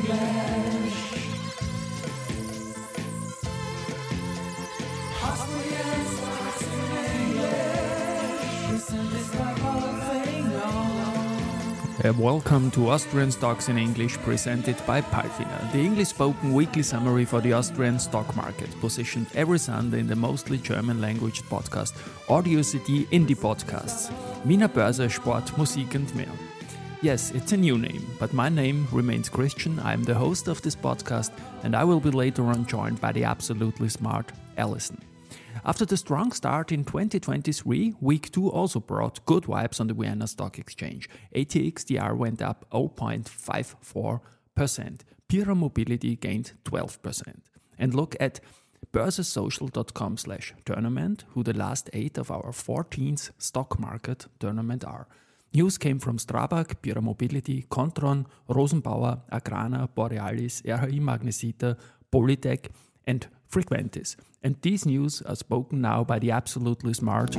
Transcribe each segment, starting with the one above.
English. Austrian stocks in English. Presented by Palfinger. Welcome to Austrian Stocks in English, presented by Palfinger, the English-spoken weekly summary for the Austrian stock market, positioned every Sunday in the mostly German-language podcast Audio CD Indie Podcasts. Wiener Börse, Sport, Musik and mehr. Yes, it's a new name, but my name remains Christian. I am the host of this podcast, and I will be later on joined by the absolutely smart Alison. After the strong start in 2023, week 2 also brought good vibes on the Vienna Stock Exchange. ATXDR went up 0.54%. Pierer Mobility gained 12%. And look at börsesocial.com/tournament, who the last 8 of our 14th stock market tournament are. News came from Strabag, Pierer Mobility, Kontron, Rosenbauer, Agrana, Borealis, RHI Magnesita, Polytech and Frequentis. And these news are spoken now by the absolutely smart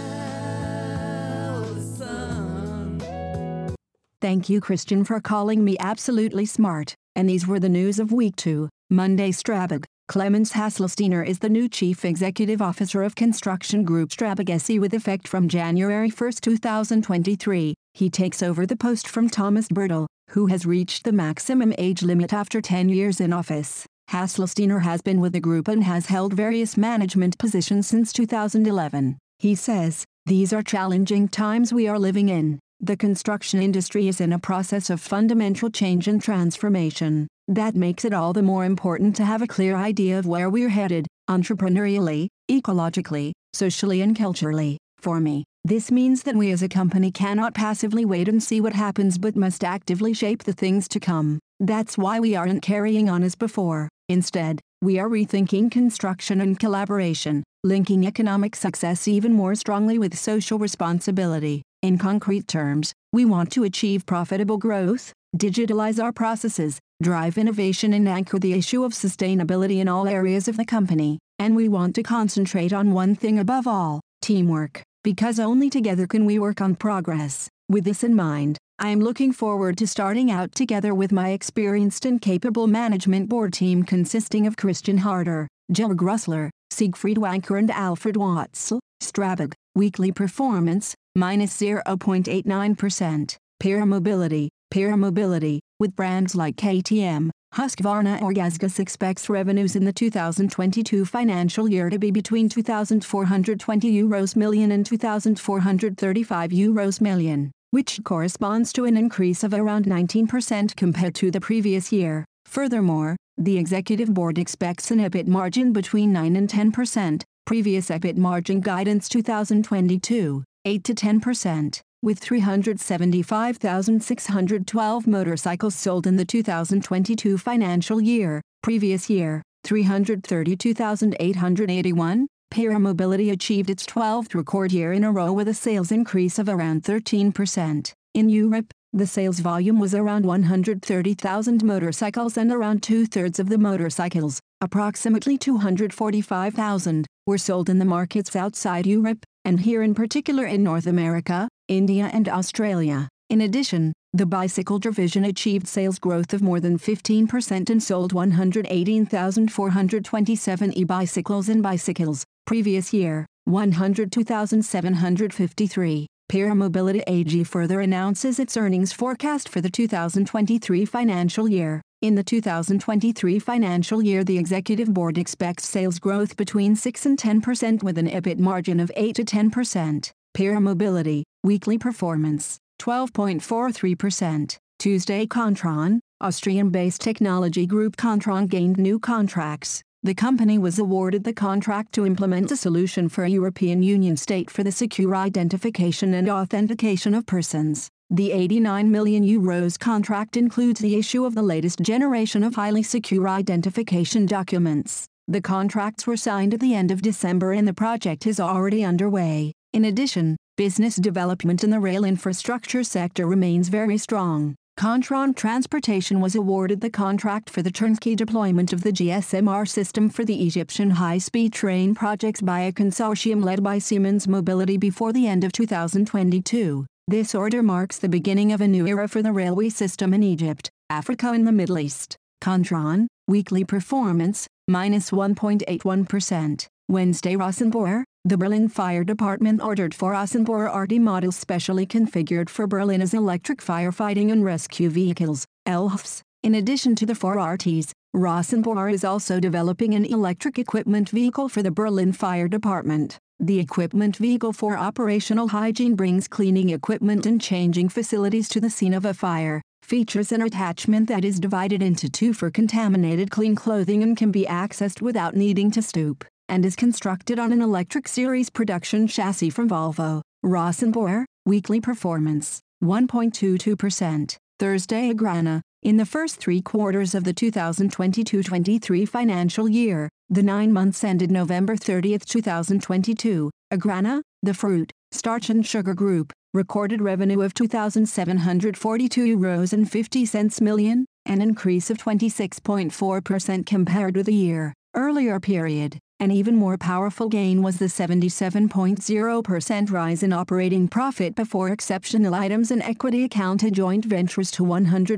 Alison. Thank you, Christian, for calling me absolutely smart. And these were the news of week 2. Monday, Strabag. Clemens Hasselsteiner is the new Chief Executive Officer of Construction Group Strabag SE with effect from January 1, 2023. He takes over the post from Thomas Bertel, who has reached the maximum age limit after 10 years in office. Hasselsteiner has been with the group and has held various management positions since 2011. He says, "These are challenging times we are living in. The construction industry is in a process of fundamental change and transformation. That makes it all the more important to have a clear idea of where we're headed, entrepreneurially, ecologically, socially and culturally. For me, this means that we as a company cannot passively wait and see what happens but must actively shape the things to come. That's why we aren't carrying on as before. Instead, we are rethinking construction and collaboration, linking economic success even more strongly with social responsibility. In concrete terms, we want to achieve profitable growth, digitalize our processes, drive innovation and anchor the issue of sustainability in all areas of the company. And we want to concentrate on one thing above all, teamwork, because only together can we work on progress. With this in mind, I am looking forward to starting out together with my experienced and capable management board team consisting of Christian Harder, Georg Russler, Siegfried Wanker and Alfred Watzel. Strabag, weekly performance, minus 0.89%. Pierer Mobility, with brands like KTM, Husqvarna or Gasgas expects revenues in the 2022 financial year to be between €2,420 million and €2,435 million, which corresponds to an increase of around 19% compared to the previous year. Furthermore, the executive board expects an EBIT margin between 9 and 10%, previous EBIT margin guidance 2022, 8 to 10%. With 375,612 motorcycles sold in the 2022 financial year, previous year, 332,881, Pierer Mobility achieved its 12th record year in a row with a sales increase of around 13%. In Europe, the sales volume was around 130,000 motorcycles and around two-thirds of the motorcycles, approximately 245,000, were sold in the markets outside Europe, and here in particular in North America, India and Australia. In addition, the bicycle division achieved sales growth of more than 15% and sold 118,427 e-bicycles and bicycles. Previous year, 102,753. Pierer Mobility AG further announces its earnings forecast for the 2023 financial year. In the 2023 financial year, the executive board expects sales growth between 6 and 10% with an EBIT margin of 8 to 10%. Pierer Mobility, weekly performance, 12.43%. Tuesday, Kontron, Austrian-based technology group Kontron gained new contracts. The company was awarded the contract to implement a solution for a European Union state for the secure identification and authentication of persons. The €89 million contract includes the issue of the latest generation of highly secure identification documents. The contracts were signed at the end of December and the project is already underway. In addition, business development in the rail infrastructure sector remains very strong. Kontron Transportation was awarded the contract for the turnkey deployment of the GSMR system for the Egyptian high-speed train projects by a consortium led by Siemens Mobility before the end of 2022. This order marks the beginning of a new era for the railway system in Egypt. Africa and the Middle East. Kontron, weekly performance, minus 1.81%. Wednesday. Rosenbauer, the Berlin Fire Department ordered 4 Rosenbauer RT models specially configured for Berlin as electric firefighting and rescue vehicles, ELFs. In addition to the 4 RTs, Rosenbauer is also developing an electric equipment vehicle for the Berlin Fire Department. The equipment vehicle for operational hygiene brings cleaning equipment and changing facilities to the scene of a fire, features an attachment that is divided into 2 for contaminated clean clothing and can be accessed without needing to stoop, and is constructed on an electric series production chassis from Volvo. Rosenbauer, weekly performance, 1.22%. Thursday. Agrana, in the first 3 quarters of the 2022-23 financial year, the 9 months ended November 30, 2022, Agrana, the fruit, starch and sugar group, recorded revenue of €2,742.50 million, an increase of 26.4% compared with the year earlier period. An even more powerful gain was the 77.0% rise in operating profit before exceptional items and equity accounted joint ventures to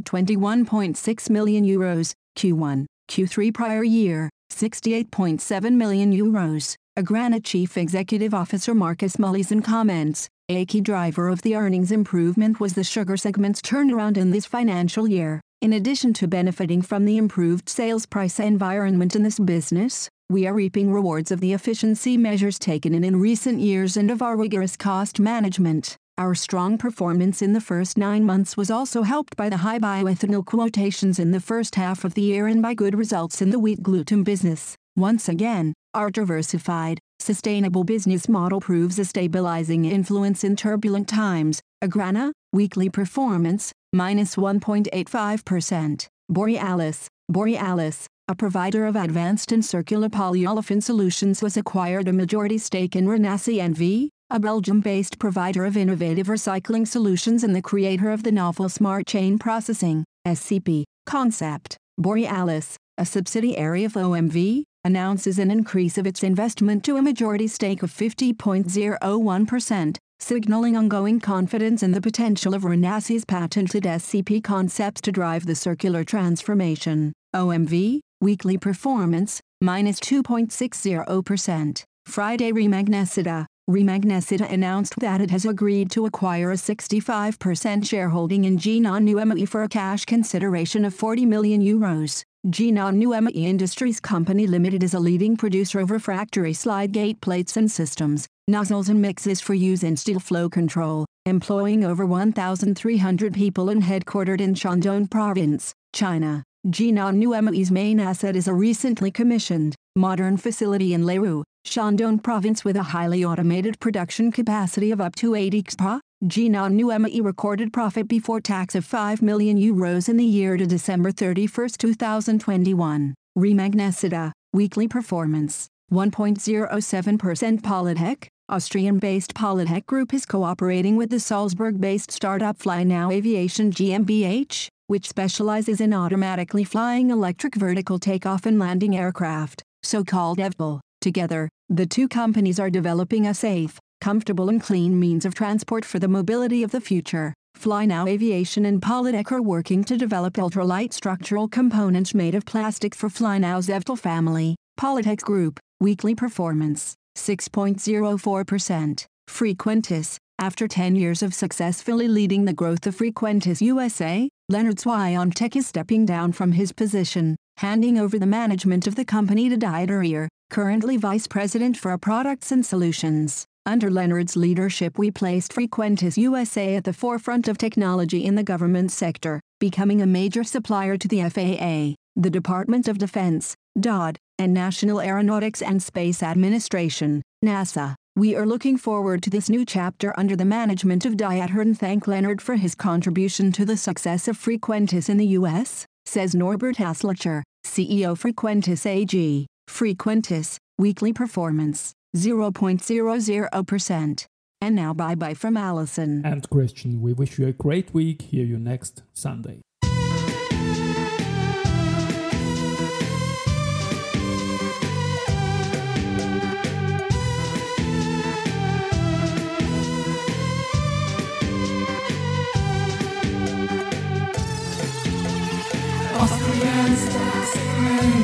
€121.6 million, Q1, Q3 prior year, €68.7 million. Agrana Chief Executive Officer Marcus Mullison comments, a key driver of the earnings improvement was the sugar segment's turnaround in this financial year. In addition to benefiting from the improved sales price environment in this business, we are reaping rewards of the efficiency measures taken in recent years and of our rigorous cost management. Our strong performance in the first 9 months was also helped by the high bioethanol quotations in the first half of the year and by good results in the wheat gluten business. Once again, our diversified, sustainable business model proves a stabilizing influence in turbulent times. Agrana, weekly performance, minus 1.85%. Borealis, a provider of advanced and circular polyolefin solutions, was acquired a majority stake in Renasci NV, a Belgium-based provider of innovative recycling solutions and the creator of the novel Smart Chain Processing, SCP, concept. Borealis, a subsidiary of OMV, announces an increase of its investment to a majority stake of 50.01%, signaling ongoing confidence in the potential of Renasci's patented SCP concepts to drive the circular transformation. OMV, weekly performance, minus 2.60%. Friday. Remagnesita announced that it has agreed to acquire a 65% shareholding in Jinan Nuemi for a cash consideration of €40 million. Jinan Nuemi Industries Company Limited is a leading producer of refractory slide gate plates and systems, nozzles and mixes for use in steel flow control, employing over 1,300 people and headquartered in Shandong Province, China. Jinan Nuemi's main asset is a recently commissioned, modern facility in Leru, Shandong Province with a highly automated production capacity of up to 80 XPA. Jinan Nuemi recorded profit before tax of €5 million in the year to December 31, 2021. Remagnesita, weekly performance, 1.07%. Polytech, Austrian-based Polytech Group is cooperating with the Salzburg-based startup FlyNow Aviation GmbH, which specializes in automatically flying electric vertical takeoff and landing aircraft, so-called eVTOL. Together, the two companies are developing a safe, comfortable and clean means of transport for the mobility of the future. FlyNow Aviation and Polytech are working to develop ultralight structural components made of plastic for FlyNow's eVTOL family. Polytech Group, weekly performance, 6.04%. Frequentis, after 10 years of successfully leading the growth of Frequentis USA, Leonard Swiontek is stepping down from his position, handing over the management of the company to Dieter Ehr, currently Vice President for Products and Solutions. Under Leonard's leadership, we placed Frequentis USA at the forefront of technology in the government sector, becoming a major supplier to the FAA, the Department of Defense, DoD, and National Aeronautics and Space Administration, NASA. We are looking forward to this new chapter under the management of Dieter and thank Leonard for his contribution to the success of Frequentis in the U.S., says Norbert Haslacher, CEO Frequentis AG. Frequentis, weekly performance, 0.00%. And now bye-bye from Alison. And Christian, we wish you a great week. Hear you next Sunday.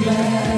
glad.